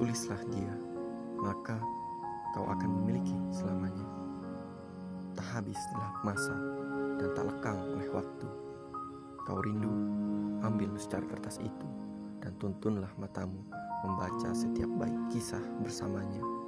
Tulislah dia, maka kau akan memiliki selamanya. Tak habis dilahap masa dan tak lekang oleh waktu. Kau rindu, ambil secari kertas itu dan tuntunlah matamu membaca setiap bait kisah bersamanya.